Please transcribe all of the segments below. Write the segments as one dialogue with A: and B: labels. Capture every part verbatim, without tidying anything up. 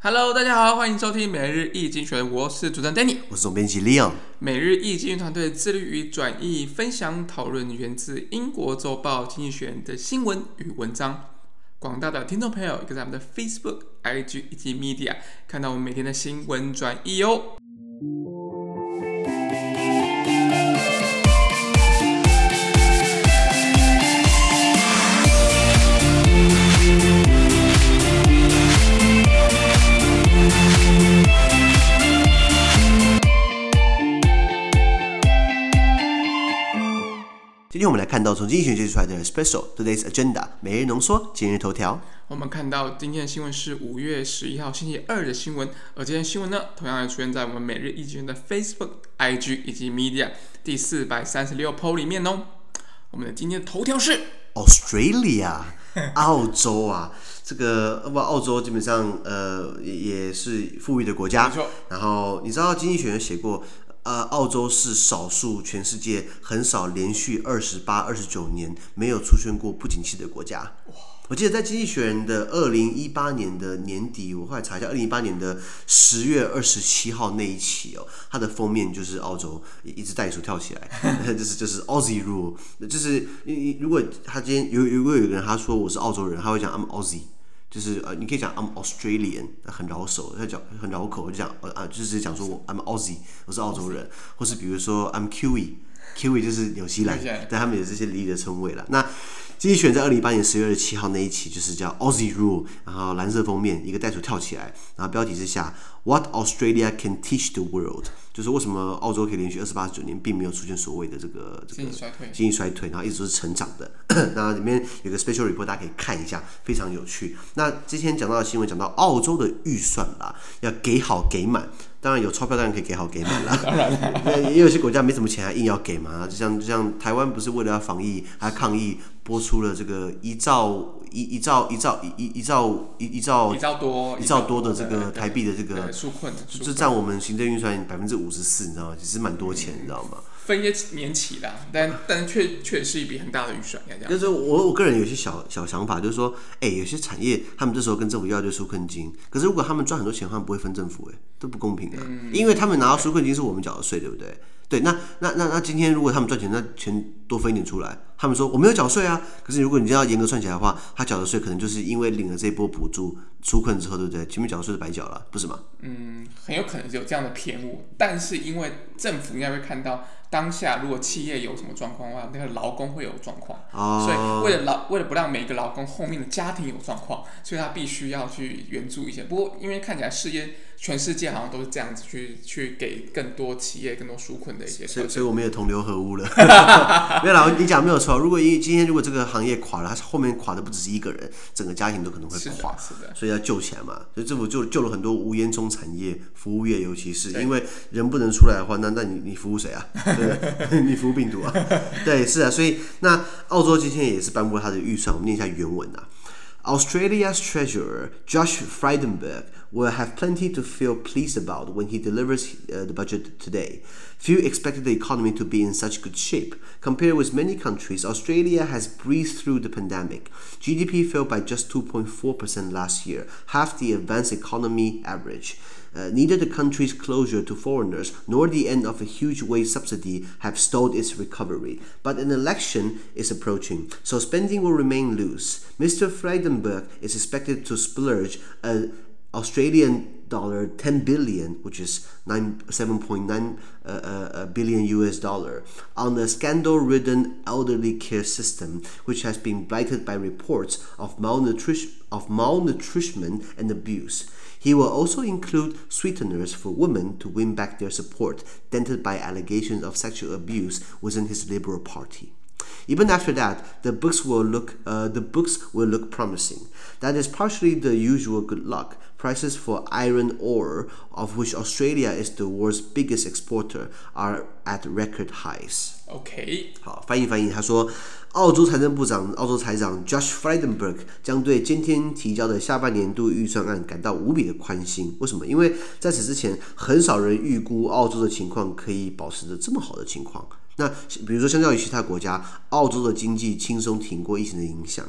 A: Hello， 大家好，歡迎收聽每日一經濟學人，我是主持人 Danny，
B: 我是總編輯 Leon。每
A: 日一經濟團隊致力於轉譯、分享、討論源自英國週報《經濟學人》的新聞與文章。廣大的聽眾朋友，可以在我們的 Facebook、I G 以及 Media 看到我們每天的新聞轉譯哦。
B: 今天我們來看到從經濟學人寫出來的 Special Today's Agenda 每日濃縮今日頭條。
A: 我們看到今天的新聞是五月十一號星期二的新聞，而今天新聞呢，同樣也出現在我們每日一經濟學人的 Facebook、I G 以及 Media 第四百三十六 po 裡面哦。我們的今天的頭條是
B: Australia 澳洲啊，這個不澳洲基本上呃也是富裕的國家，然後你知道經濟學人寫過。呃，澳洲是少數全世界很少連續二十八、二十九年沒有出現過不景氣的國家。我記得在《經濟學人》的二零一八年的年底，我後来查一下，二零一八年的十月二十七號那一期哦，它的封面就是澳洲一隻袋鼠跳起來，就是就是 Aussie Rule， 就是如果他今天有如果有一個人他說我是澳洲人，他會講 I'm Aussie。就是呃，你可以講 I'm Australian， 很繞手，他講很繞口，就講呃就是講說我 I'm Aussie， 我是澳洲人，或是比如說 I'm Kiwi，Kiwi 就是紐西蘭，但他們有這些俚語的稱謂了。那經濟學人在二零一八年十月二十七號那一期就是叫 Aussie Rule， 然後藍色封面，一個袋鼠跳起來，然後標題之下 What Australia can teach the world， 就是為什麼澳洲可以連續二十八、二十九年並沒有出現所謂的這個這個經濟衰退，經濟衰退，然後一直都是成長的。那裡面有個 special report， 大家可以看一下，非常有趣。那之前講到的新聞講到澳洲的預算啦，要給好給滿。當然有鈔票當然可以給好給滿啦，當然也有些國家沒什麼錢還硬要給嘛，就像就像台灣不是為了要防疫還抗疫撥出了這個一兆一一兆一兆一一兆一一兆
A: 一兆多
B: 一兆多的這個台幣的這個
A: 紓困，
B: 這佔我們行政預算百分之五十四，你知道嗎？其實蠻多錢，你知道嗎？
A: 分一些年期啦，但但確確是一筆很大的預算，應該這樣。
B: 就是我我個人有些小小想法，就是說，哎，有些產業他們這時候跟政府要一堆紓困金，可是如果他們賺很多錢，他們不會分政府，哎，都不公平的、啊嗯，因為他們拿到紓困金是我們繳的稅，對不對？對，那那那那今天如果他們賺錢，那錢多分一點出來，他們說我沒有繳稅啊，可是如果你要嚴格算起來的話，他繳的稅可能就是因為領了這一波補助紓困之後，對不對？前面繳的稅是白繳了，不是嗎？嗯，
A: 很有可能是有這樣的偏誤，但是因為政府應該會看到。當下如果企業有什麼狀況的話，那個勞工會有狀況、哦，所以為了勞為了不讓每一個勞工後面的家庭有狀況，所以他必須要去援助一些。不過因為看起來世界全世界好像都是這樣子去去給更多企業更多紓困的一些，
B: 所以所以我們也同流合污了。沒有啦，你講沒有錯。如果今天如果這個行業垮了，它後面垮的不只是一個人，整個家庭都可能會垮，是的，是的，所以要救起來嘛。所以政府就救了很多無煙囪產業、服務業，尤其是因為人不能出來的話，那那你你服務誰啊？你服病毒啊？對，是啊，所以那澳洲今天也是頒布了他的預算，我們念一下原文啊。Australia's Treasurer Josh Frydenberg will have plenty to feel pleased about when he delivers uh, the budget today. Few expected the economy to be in such good shape. Compared with many countries, Australia has breezed through the pandemic. G D P fell by just two point four percent last year, half the advanced economy average. Uh, neither the country's closure to foreigners nor the end of a huge wage subsidy have stalled its recovery. But an election is approaching, so spending will remain loose. Mister Frydenberg is expected to splurge an Australian dollar ten billion, which is seven point nine uh, uh, billion U S dollar, on a scandal-ridden elderly care system, which has been blighted by reports of malnutrition, of malnutrition and abuse. He will also include sweeteners for women to win back their support, dented by allegations of sexual abuse within his Liberal Party. Even after that, the books will look uh, the books will look promising. That is partially the usual good luck. Prices for iron ore, of which Australia is the world's biggest exporter, are at record highs.
A: OK，
B: 好，翻譯翻譯，他說，澳洲財政部長、澳洲財長 Josh Frydenberg 將對今天提交的下半年度預算案感到無比的寬心。為什麼？因為在此之前，很少人預估澳洲的情況可以保持着這麼好的情況。那比如說，相較於其他國家，澳洲的經濟輕鬆挺過疫情的影響。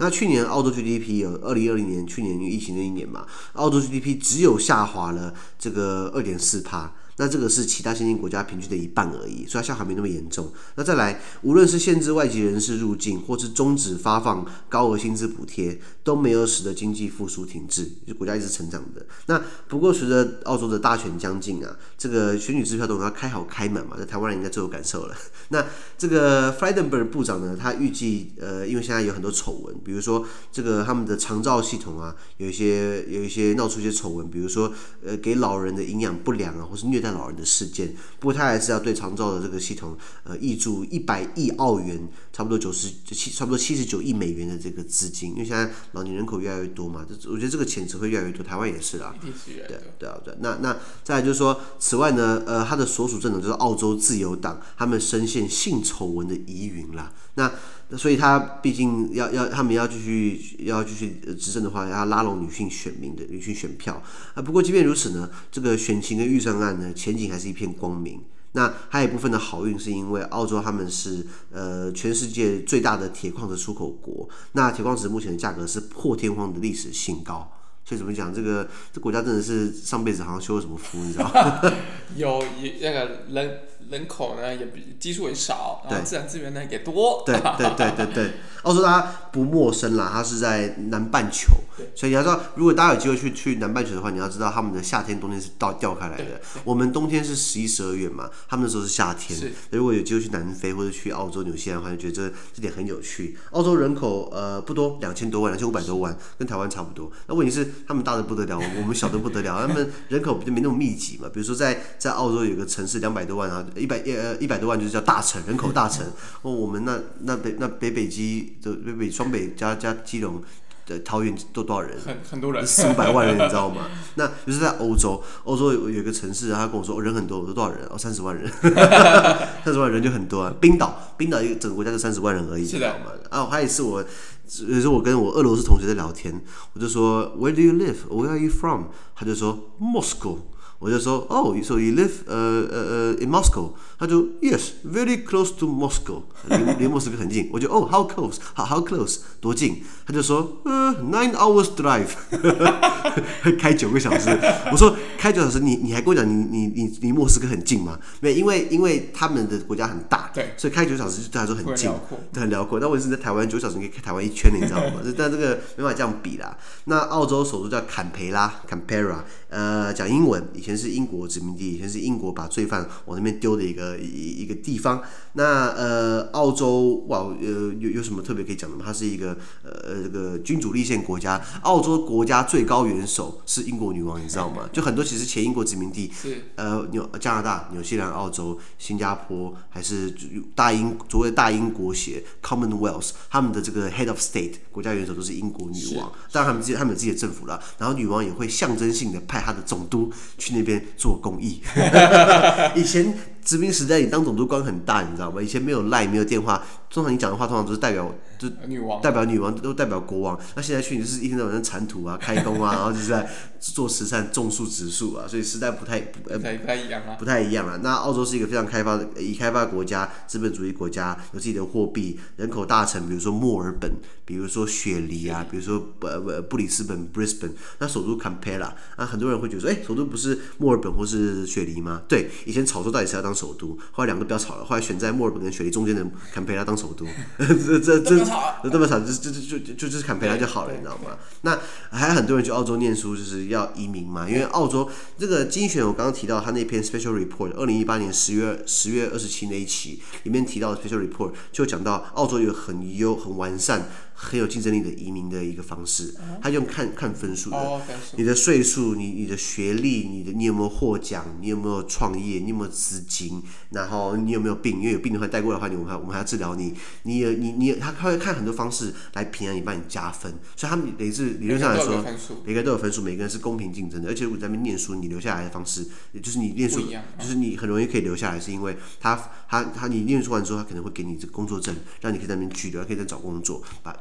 B: 那去年澳洲 G D P 有二零二零年去年因為疫情那一年嘛，澳洲 G D P 只有下滑了這個 二點四趴。那這個是其他先進國家平均的一半而已，所以它下滑沒那麼嚴重。那再來，無論是限制外籍人士入境，或是終止發放高額薪資補貼，都沒有使得經濟復甦停滯，就國家一直成長的。那不過隨着澳洲的大選將近啊，這個選舉支票都要開好開滿嘛，在台灣人應該最有感受了。那這個 Frydenberg 部長呢，他預計呃，因為現在有很多醜聞，比如說這個他們的長照系統啊，有一些有一些鬧出一些醜聞，比如說呃給老人的營養不良啊，或是虐待老人的事件，不過他還是要對長照的這個系統，呃，挹注一百億澳元，差不多九十七，差不多七十九億美元的這個資金，因為現在老年人口越來越多嘛，我覺得這個錢只會越來越多，台灣也是啦，
A: 一定是越來越多。
B: 對對啊對，那那再來就是說，此外呢，呃，他的所屬政黨就是澳洲自由黨，他們深陷性醜聞的疑雲啦，那。所以他畢竟要要他們要繼續要繼續執政的話，要拉攏女性選民的女性選票啊。不過即便如此呢，這個選情跟預算案呢，前景還是一片光明。那還有一部分的好運是因為澳洲他們是呃全世界最大的鐵礦的出口國，那鐵礦石目前的價格是破天荒的歷史新高。所以怎麼講，這個這國家真的是上輩子好像修了什麼福，你知道嗎？
A: 有那個人人口呢也比基數也少，然後自然資源呢也多。
B: 對對對對對，澳洲大家不陌生啦，它是在南半球，所以你要知道，如果大家有機會去去南半球的話，你要知道他們的夏天、冬天是倒掉開來的。我們冬天是十一、十二月嘛，他們那時候是夏天。如果有機會去南非或者去澳洲、紐西蘭的話，就覺得這這點很有趣。澳洲人口呃不多，兩千多萬，兩千五百多萬，跟台灣差不多。那問題是他們大的不得了，我們小的不得了，他們人口就沒那麼密集嘛。比如說在在澳洲有個城市兩百多萬啊，一百呃一百多萬就是叫大城，人口大城。哦，我們那那北那北北基的北北雙北加加基隆的桃園都多少人？
A: 很很多人，
B: 四五百萬人，你知道嗎？那就是在歐洲，歐洲有有一個城市，他跟我說、哦、人很多，我說多少人？哦，三十萬人，三十萬人就很多啊。冰島，冰島一個整個國家就三十萬人而已，知道嗎？啊，還有一次我，有時候我跟我俄羅斯同學在聊天，我就說 Where do you live? Where are you from? 他就說 Moscow。我就說哦 ，so you live 呃呃呃 in Moscow？ 他就 Yes, very close to Moscow， 離離莫斯科很近。我就哦 ，how close？ how how close？ 多近？他就說呃 nine hours drive， 開九個小時。我說開九小時，你你還跟我講你你你離莫斯科很近嗎？沒，因為因為他們的國家很大，對，所以開九小時對他來說很近，很遼闊。但問題是在台灣九小時你可以開台灣一圈，你知道嗎？但這個沒辦法這樣比啦。那澳洲首都叫坎培拉 （Canberra）， 呃，講英文，以前是英國殖民地，以前是英國把罪犯往那邊丟的一個一一個地方。那呃，澳洲哇，呃，有有什麼特別可以講的嗎？它是一個呃這個君主立憲國家。澳洲國家最高元首是英國女王，你知道嗎？就很多其實前英國殖民地，呃，紐加拿大、紐西蘭、澳洲、新加坡，還是大英所謂的大英國協 Commonwealth， 他們的這個 Head of State 國家元首都是英國女王。當然他們自己他們有自己的政府啦，然後女王也會象徵性的派她的總督去那邊做公益。以前殖民時代，你當總督官很大，你知道嗎？以前沒有 Line， 沒有電話，通常你講的話通常都是代表就女王，代表女王都代表國王。那現在去你就是一天到晚在鏟土啊、開工啊，然後就是在做慈善、種樹、植樹啊，所以時代不太不太不太一樣啊，不太一樣啊。那澳洲是一個非常開發的、已開發國家、資本主義國家，有自己的貨幣，人口大城，比如說墨爾本，比如說雪梨啊，比如說呃布里斯本 （Brisbane）， 那首都坎培拉啊，很多人會覺得說，哎、欸，首都不是墨爾本或是雪梨嗎？對，以前吵說到底誰要當首都，後來兩個都不要吵了，後來選在墨爾本跟雪梨中間的坎培拉當首都，這這這這麼吵，就就就就就就是坎培拉就好了，你知道嗎？那還有很多人去澳洲念書，就是要移民嘛，因為澳洲這個經濟學人我剛剛提到他那篇 special report， 二零一八年十月十月二十七那一期裡面提到的 special report 就講到澳洲有很優很完善。很有競爭力的移民的一個方式，他用看看分數的，你的歲數、你你的學歷、你的你有沒有獲獎、你有沒有創業、你有沒有資金，然後你有沒有病，因為有病的話帶過來的話，我們還我們還要治療你，你有你你他他會看很多方式來評量你，幫你加分，所以他們等於是理論上來說，每個人都有分數，每個人是公平競爭的，而且如果在那邊念書，你留下來的方式，就是你念書，就是你很容易可以留下來，是因為他他他你念書完之後，他可能會給你這個工作證，讓你可以在那邊居留，可以在找工作，把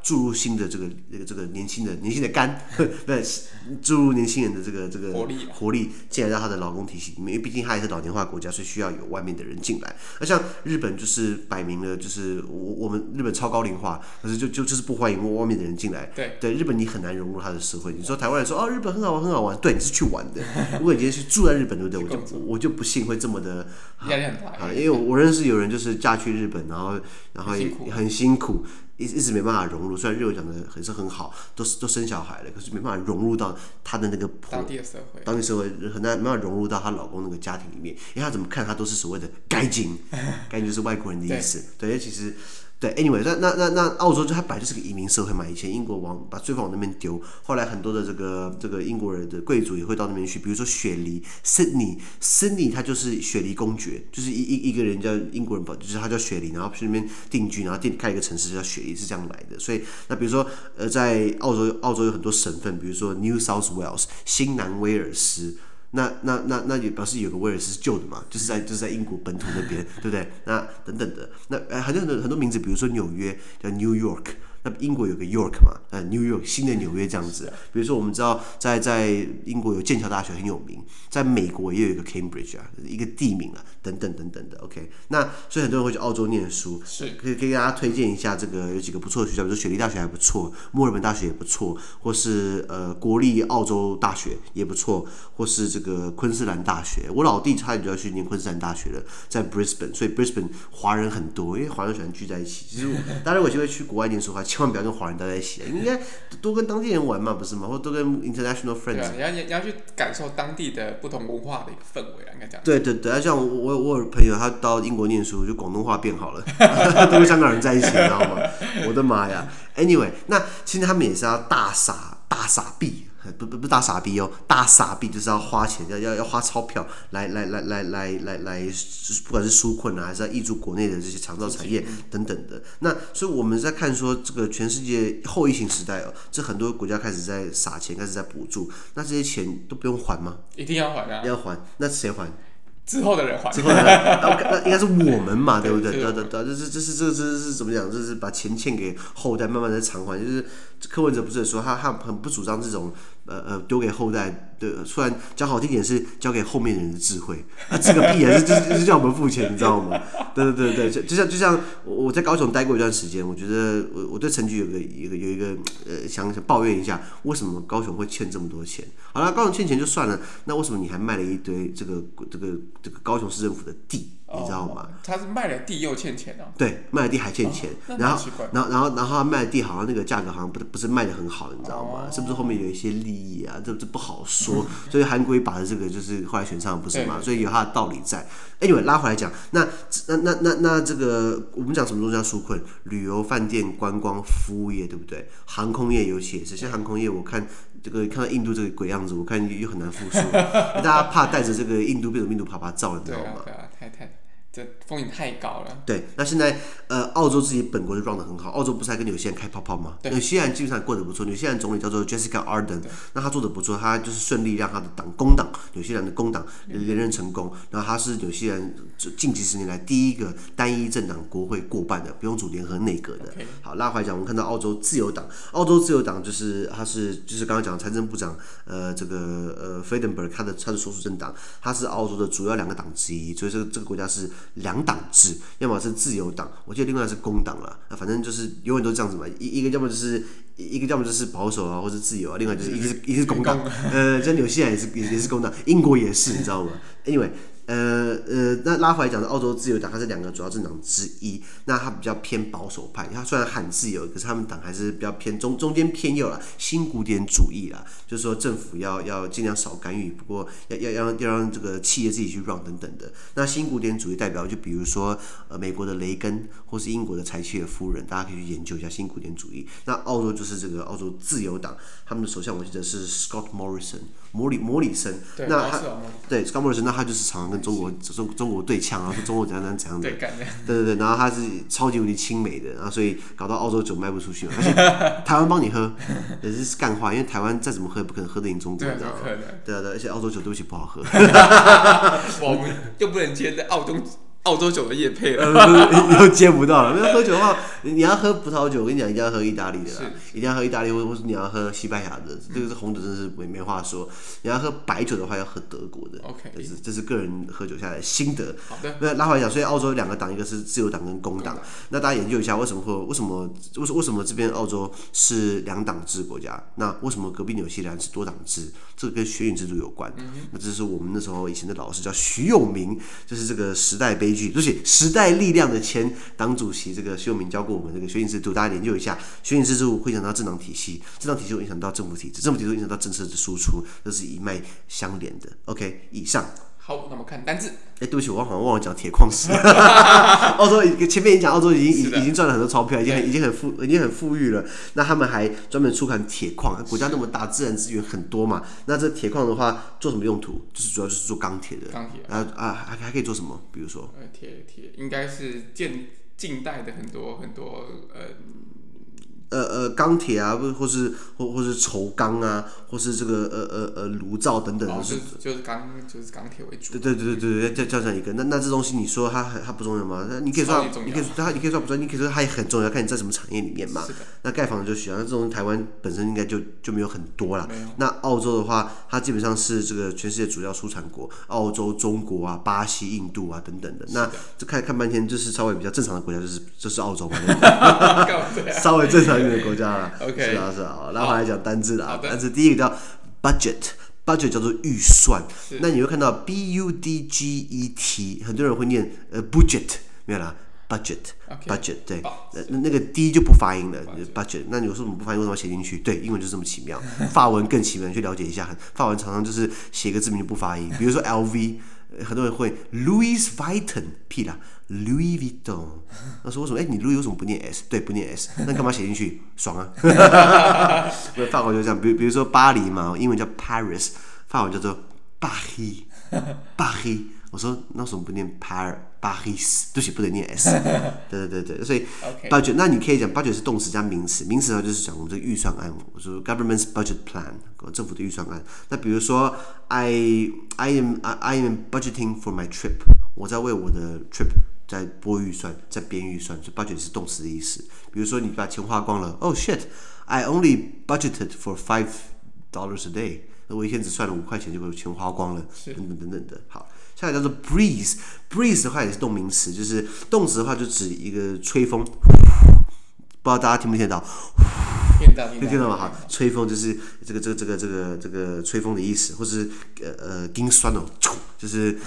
B: 注入新的這個這個這個年輕的年輕的肝，對，注入年輕人的這個這個
A: 活力
B: 活力進來到他的勞工體系裡面，因為畢竟他也是老年化國家，所以需要有外面的人進來。而像日本就是擺明了就是我我們日本超高齡化，可是就就就是不歡迎外面的人進來。
A: 對
B: 对，日本你很難融入他的社会。你說台灣人說哦日本很好玩很好玩，對，你是去玩的。如果你今天是住在日本，對不對？我就我就不信會這麼的
A: 壓力很大
B: 啊，因為我認識有人就是嫁去日本，然後然後也很辛苦。一一直沒辦法融入，雖然日文講的還是很好，都都生小孩了，可是沒辦法融入到她的那個
A: 當地的社會，
B: 當地社會很難沒辦法融入到她老公那個家庭裡面，因為她怎麼看她都是所謂的該金，該金就是外國人的意思，對，因為其實。對 ，anyway， 那那那那澳洲就它本來就是個移民社會嘛，以前英國往把罪犯往那邊丟，後來很多的這個這個英國人的貴族也會到那邊去，比如說雪梨 ，Sydney，Sydney 它就是雪梨公爵，就是一一一個人叫英國人，就是他叫雪梨，然後去那邊定居，然後定開一個城市叫雪梨，是這樣來的。所以那比如說呃，在澳洲澳洲有很多省份，比如說 New South Wales 新南威爾斯。那那那那也表示有個威爾斯是舊的嘛，就是在就是在英國本土那邊，對不對？那等等的，那呃很多很多很多名字，比如說紐約叫 New York， 那英國有個 York 嘛，呃 New York 新的紐約這樣子。比如說我們知道在在英國有劍橋大學很有名，在美國也有一個 Cambridge 啊，一個地名啊，等等等等的。OK， 那所以很多人會去澳洲念書，
A: 是
B: 可以可以給大家推薦一下這個有幾個不錯的學校，比如說雪梨大學還不錯，墨爾本大學也不錯，或是呃國立澳洲大學也不錯，或是這個昆士蘭大學。我老弟差點就要去念昆士蘭大學了，在 Brisbane， 所以 Brisbane 華人很多，因為華人喜歡聚在一起。其實大家如果有機會去國外念書的話，千萬不要跟華人待在一起，應該多跟當地人玩嘛，不是嗎？或多跟 international friends。對
A: 啊，你要你要去感受當地的不同文化的一個氛圍啊，應該這樣。
B: 對對對，像我我我有朋友他到英國念書，就廣東話變好了，都跟香港人在一起，你知道嗎？我的媽呀 ！Anyway， 那其實他們也是要大傻大傻逼。不不不大傻逼哦，大傻逼就是要花錢，要要要花鈔票來來來來來來來，不管是紓困啊，還是要挹注國內的這些長照產業等等的。那所以我們在看說，這個全世界後疫情時代哦，這很多國家開始在撒錢，開始在補助，那這些錢都不用還嗎？
A: 一定要還啊！
B: 要還，那誰還？
A: 之後的人還，
B: 之後的人，那應該是我們嘛，對不對？對對對，這是這是這是這是怎麼講？這是把錢欠給後代，慢慢的償還。就是柯文哲不是說他他很不主張這種呃呃丟給後代的，雖然講好聽點是交給後面的人的智慧，啊這個屁啊，是就是就是叫我們付錢，你知道嗎？對對對對，就就像就像我在高雄待過一段時間，我覺得我我對陳菊有個有個有一個呃想想抱怨一下，為什麼高雄會欠這麼多錢？好了，高雄欠錢就算了，那為什麼你還賣了一堆這個這個這個高雄市政府的地？你知道嗎？
A: 他是賣了地又欠錢啊。對，
B: 賣了地還欠錢，
A: 哦、
B: 然後然後然後然後他賣的地好像那個價格好像不不是賣的很好，你知道嗎？哦、是不是後面有一些利益啊？這這不好說。所以韓國瑜把的這個就是後來選上不是嘛？所以有他的道理在。Anyway， 拉回來講，那那那那那這個我們講什麼東西要紓困？旅遊、飯店、觀光、服務業，對不對？航空業尤其也是，像航空業，我看這個看到印度這個鬼樣子，我看又很難復甦，大家怕帶着這個印度變種病毒爬爬照，你知道嗎？
A: 對啊，對啊，太太。這風險太高了。對，
B: 那現在呃，澳洲自己本國就 run 得很好，澳洲不是還跟紐西蘭開泡泡嗎？紐西蘭基本上過得不錯，紐西蘭總理叫做 Jessica Ardern， 那他做得不錯，他就是順利讓他的黨工黨，紐西蘭的工黨連任成功，然後他是紐西蘭近幾十年來第一個單一政黨國會過半的，不用組聯合內閣的。Okay. 好，拉回來講，我們看到澳洲自由黨，澳洲自由黨就是他是就是剛剛講的財政部長呃這個呃 Frydenberg 他的他的所屬政黨，他是澳洲的主要兩個黨之一，所以這個這個國家是兩黨制，要麼是自由黨，我記得另外是工黨啦，反正就是永遠都這樣子嘛，一一個要麼就是一個要麼就是保守啊，或者自由啊，另外就是一個是一個是工黨，呃，像紐西蘭也是也也是工黨，英國也是，你知道嗎 ？Anyway。呃呃，那拉回來講的澳洲自由黨，它是兩個主要政黨之一。那它比較偏保守派，它雖然喊自由，可是他們黨還是比較偏中中間偏右啦，新古典主義啦，就是說政府要要盡量少干預，不過要要要要讓這個企業自己去 run 等等的。那新古典主義代表就比如說呃美國的雷根，或是英國的柴契爾夫人，大家可以去研究一下新古典主義。那澳洲就是這個澳洲自由黨，他們的首相我記得是 Scott Morrison。摩里摩里森，那他對 Scott Morrison， 那他就是常常跟中國中中國對嗆啊，說中國怎樣怎樣怎樣的，對對對，然後他是超級無敵親美的，然後所以搞到澳洲酒賣不出去嘛，而且台灣幫你喝也是幹話，因為台灣再怎麼喝也不可能喝得贏中國，你知道嗎？對啊對，而且澳洲酒對不起不好喝，
A: 我們又不能接在澳洲澳洲酒的業配了，
B: 又接不到了。因為喝酒的話，你要喝葡萄酒，我跟你講，一定要喝意大利的啦，一定要喝意大利，或或是你要喝西班牙的，嗯、這個是紅酒，真是沒沒話說。你要喝白酒的話，要喝德國的。OK， 這是這是個人喝酒下來的心得。
A: 好的。
B: 那拉回來講，所以澳洲有兩個黨，一個是自由黨跟工黨。那大家研究一下，為什麼會為什麼為為什麼這邊澳洲是兩黨制國家？那為什麼隔壁紐西蘭是多黨制？這個跟選舉制度有關。嗯、那這是我們那時候以前的老師叫徐永明，就是這個時代悲劇，就是時代力量的前黨主席，這個徐永明教過我們這個選舉制度，大家研究一下，選舉制度會影響到政黨體系，政黨體系會影響到政府體制，政府體制會影響到政策的輸出，這是一脈相連的。OK， 以上。
A: 好，那麼看單字。
B: 哎，對不起，我好像忘了講鐵礦石。澳洲前面已經講，澳洲已經已經賺了很多鈔票，已經很已經很富已經很富裕了。那他們還專門出產鐵礦，國家那麼大，自然資源很多嘛。那這鐵礦的話，做什麼用途？就是主要就是做鋼鐵的。鋼鐵。啊啊，還還可以做什麼？比如說。
A: 呃，鐵鐵應該是近近代的很多很多呃。
B: 呃呃，鋼鐵啊，或或是或或是軸鋼啊，或是這個呃呃呃爐灶等等的，
A: 哦、就是就是鋼就是鋼鐵為主。
B: 對對對對對，叫叫這樣一個。那那這東西你說它它不重要嗎？你可以說你可以說它你可以說不重要，你可以說它也很重要，看你在什麼產業裡面嘛。那蓋房子就需要，那這種台灣本身應該就就沒有很多啦。那澳洲的話，它基本上是這個全世界主要出產國，澳洲、中國啊、巴西、印度啊等等的。那這看看半天，就是稍微比較正常的國家，就是就是澳洲嘛。稍微正常一點的國家啦。
A: OK，
B: 是啊是啊，然後來講單字啦，單字第一個叫 budget，budget 叫做預算。那你會看到 B U D G E T， 很多人會念呃 budget， 沒有啦 ，budget，budget， 對，那那個 D 就不發音了 ，budget。那你說怎麼不發音？為什麼要寫進去？對，英文就是這麼奇妙，法文更奇妙，你去了解一下。法文常常就是寫個字名就不發音，比如說 L V。很多人會 Louis Vuitton， 屁啦 Louis Vuitton。他說為什麼？哎、欸，你 Louis 為什麼不念 S？ 對，不念 S， 那幹嘛寫進去？爽啊！法國就這樣，比比如說巴黎嘛，英文叫 Paris， 法文叫做 Paris，Paris。我說那為什麼不念 Par Paris？ 對不起，不能念 S。對對對對，所以 budget， 那你可以講 budget 是動詞加名詞，名詞的話就是講我們這個預算案。我說 government's budget plan， 政府的預算案。那比如說 I I am I am budgeting for my trip， 我在為我的 trip 在撥預算，在編預算，所以 budget 是動詞的意思。比如說你把錢花光了 ，Oh shit，I only budgeted for five dollars a day。我一天只算了五塊錢就把錢花光了，等等等等的。好，下來叫做 breeze，breeze 的話也是動名詞，就是動詞的話就指一個吹風，不知道大家聽不聽得到？
A: 听到，
B: 听到嗎？好，吹風就是這個這個這個這個這個吹風的意思，或是呃呃，驚酸哦，就是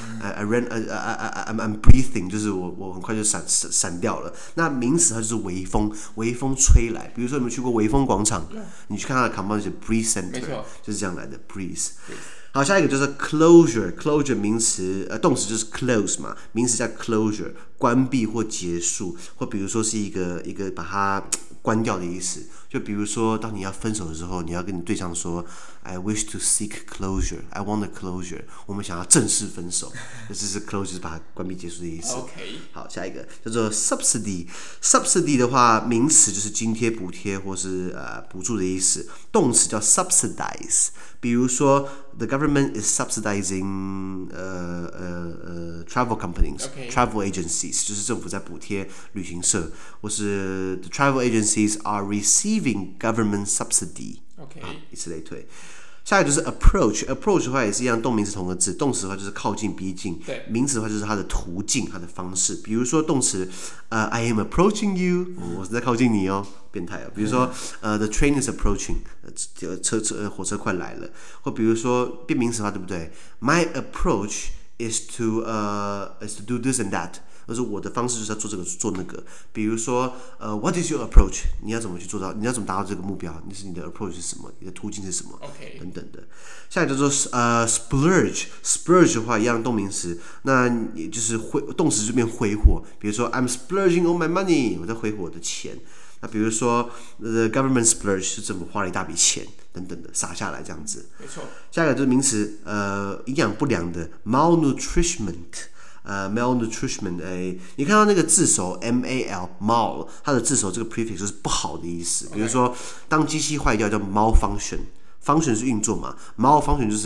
B: I ran I I I I'm breathing， 就是我我很快就閃閃閃掉了。那名詞它就是微風，微風吹來。比如說你們去過微風廣場，你去看它的 compound 就是 breeze center， 就是這樣來的 breeze。好，下一個就是 closure，closure 名詞，呃，動詞就是 close 嘛，名詞叫 closure， 關閉或結束，或比如說是一個一個把它關掉的意思。就比如說，當你要分手的時候，你要跟你對象說 ，I wish to seek closure, I want a closure。我們想要正式分手，這是 closure， 就是把它關閉結束的意思。
A: Okay.
B: 好，下一個叫做 subsidy，subsidy 的話，名詞就是津貼、補貼或是呃補助的意思，動詞叫 subsidize。比如說 ，the government is subsidizing 呃呃呃 travel companies、travel agencies， 就是政府在補貼旅行社，或是 the travel agencies are receiving government subsidy。OK， 啊，以此類推。下一個就是 approach，approach 的話也是一樣，動名詞同個字，動詞的話就是靠近、逼近，名詞的話就是它的途徑、它的方式。比如說動詞，呃 ，I am approaching you， 我是在靠近你哦，變態哦。比如說，呃 ，the train is approaching， 呃，車車火車快來了。或比如說變名詞的話，對不對 ？My approach is to 呃、uh, is to do this and that。而是我的方式就是要做這個做那個，比如說，呃 ，What is your approach？ 你要怎麼去做到？你要怎麼達到這個目標？你是你的 approach 是什麼？你的途徑是什麼？
A: Okay.
B: 等等的。下一個叫做呃 splurge，splurge 的話一樣動名詞，那也就是揮動詞就變揮霍。比如說 I'm splurging on my money， 我在揮霍我的錢。那比如說 the government splurge 是政府花了一大筆錢等等的撒下來這樣子。
A: 沒錯。
B: 下一個就是名詞，呃，營養不良的 malnutrition。呃、uh, ，malnutrition， 哎，你看到那個字首 M A L mal， 它的字首這個 prefix 就是不好的意思。Okay. 比如說，當機器壞掉叫 malfunction，function 是運作嘛，malfunction 就是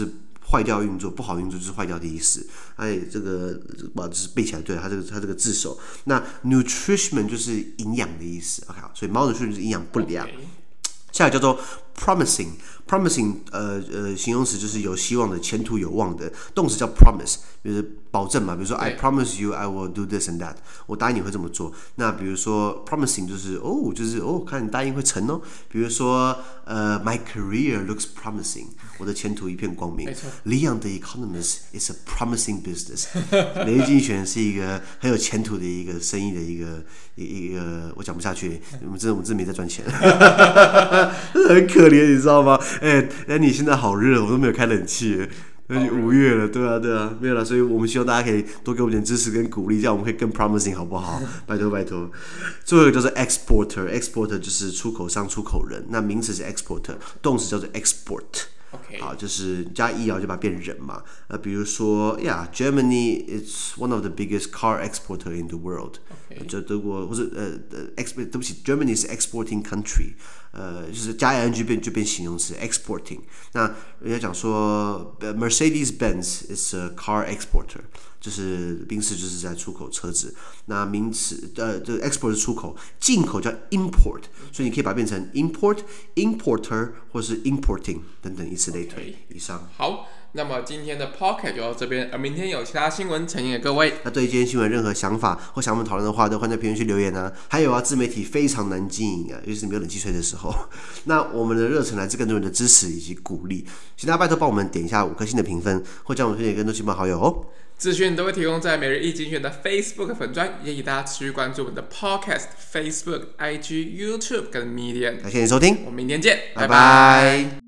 B: 壞掉運作，不好運作就是壞掉的意思。哎，這個把就是背起來，對它這個它這個字首。那 nutrition 就是營養的意思 ，OK， 所以 malnutrition 就是營養不良。Okay. 下來叫做 promising，promising， 呃呃，形容詞就是有希望的、前途有望的，動詞叫 promise， 就是保證嘛。比如說 I promise you I will do this and that， 我答應你會這麼做。那比如說 promising 就是哦，就是哦，看你答應會成哦。比如說呃 My career looks promising， 我的前途一片光明。Leon the Economist is a promising business， 雷金璇是一個很有前途的一個生意的一個一一個，我講不下去，我們真的我們真的沒在賺錢。很可憐，你知道嗎？哎，那你現在好熱，我都沒有開冷氣。五月了，對啊，對啊，沒有了，所以我們希望大家可以多給我們點支持跟鼓勵，這樣我們可以更 promising， 好不好？拜托拜托。最後一個叫做 exporter，exporter 就是出口商、出口人。那名詞是 exporter， 動詞叫做 export。Okay. 好，就是加 e 啊，就把它變人嘛。呃，比如說呀、yeah, ，Germany is one of the biggest car exporter in the world。Okay. 就德國或者呃呃 ，ex 對不起 ，Germany is exporting country。呃，就是加 ing 變就變形容詞 exporting。那人家講說 ，Mercedes-Benz is a car exporter， 就是賓士就是在出口車子。那名詞呃，這個 export 是出口，進口叫 import， 所以你可以把它變成 import、importer 或是 importing 等等，以此類推。Okay. 以上。好。
A: 那麼今天的 Podcast 就到這邊，而明天有其他新聞呈現給各位。
B: 那對今天新聞任何想法或想我們討論的話，都歡迎在評論區留言啊。還有啊，自媒體非常難經營啊，尤其是沒有冷氣吹的時候。那我們的熱忱來自更多人的支持以及鼓勵，請大家拜託幫我們點一下五顆星的評分，或將我們推薦給更多親朋好友哦。
A: 資訊都會提供在每日一精選的 Facebook 粉專，也請大家持續關注我們的 Podcast、Facebook、I G、YouTube 跟 Medium。感謝你收聽，我們明天見，拜拜。拜拜。